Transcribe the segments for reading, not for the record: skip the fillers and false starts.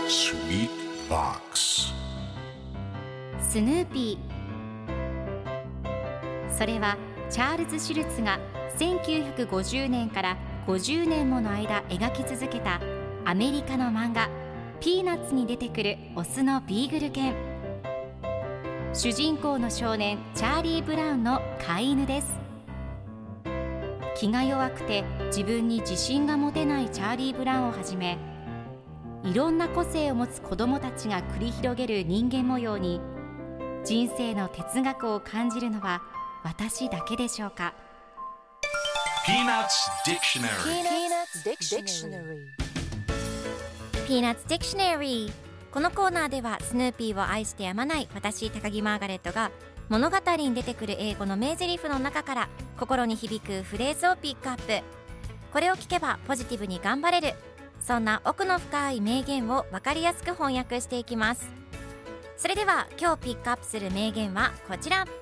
Sweet Box スヌーピー。それはチャールズ・シュルツが1950年から50年もの間描き続けたアメリカの漫画ピーナッツに出てくるオスのビーグル犬。主人公の少年チャーリー・ブラウンの飼い犬です。気が弱くて自分に自信が持てないチャーリー・ブラウンをはじめ、いろんな個性を持つ子どもたちが繰り広げる人間模様に人生の哲学を感じるのは私だけでしょうか。 Peanuts Dictionary Peanuts Dictionary。 このコーナーではスヌーピーを愛してやまない私高木マーガレットが物語に出てくる英語の名台詞の中から心に響くフレーズをピックアップ。これを聞けばポジティブに頑張れる、そんな奥の深い名言を分かりやすく翻訳していきます。それでは今日ピックアップする名言はこちら。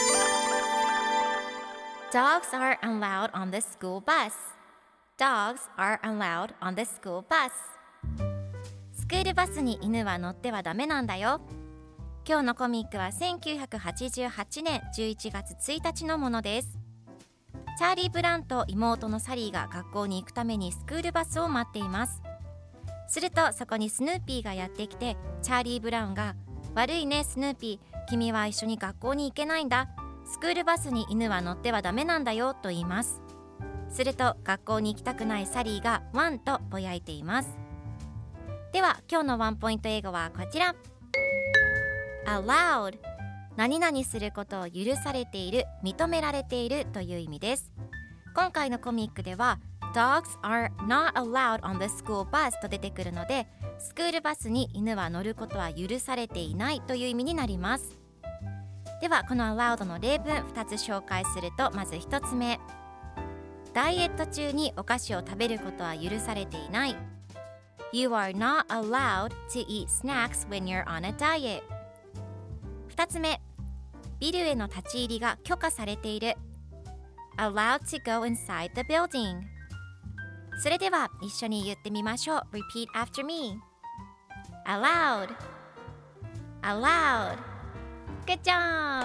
Dogs are allowed on the school bus. Dogs are allowed on the school bus. スクールバスに犬は乗ってはダメなんだよ。今日のコミックは1988年11月1日のものです。チャーリー・ブラウンと妹のサリーが学校に行くためにスクールバスを待っています。するとそこにスヌーピーがやってきて、チャーリー・ブラウンが悪いねスヌーピー、君は一緒に学校に行けないんだ、スクールバスに犬は乗ってはダメなんだよと言います。すると学校に行きたくないサリーがワンとぼやいています。では今日のワンポイント英語はこちら。 allowed、 何々することを許されている、認められているという意味です。今回のコミックでは Dogs are not allowed on the school bus と出てくるので、スクールバスに犬は乗ることは許されていないという意味になります。ではこの allowed の例文2つ紹介すると、まず1つ目、ダイエット中にお菓子を食べることは許されていない。 You are not allowed to eat snacks when you're on a diet。 2つ目、ビルへの立ち入りが許可されている。 Allowed to go inside the building。 それでは一緒に言ってみましょう。 Repeat after me。 Allowed Allowed。 Good job。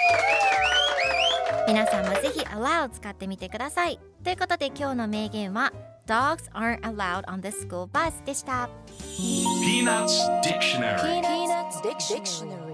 皆さんもぜひ Allowed 使ってみてください。ということで今日の名言は Dogs aren't allowed on the school bus でした。 Peanuts Dictionary Peanuts Dictionary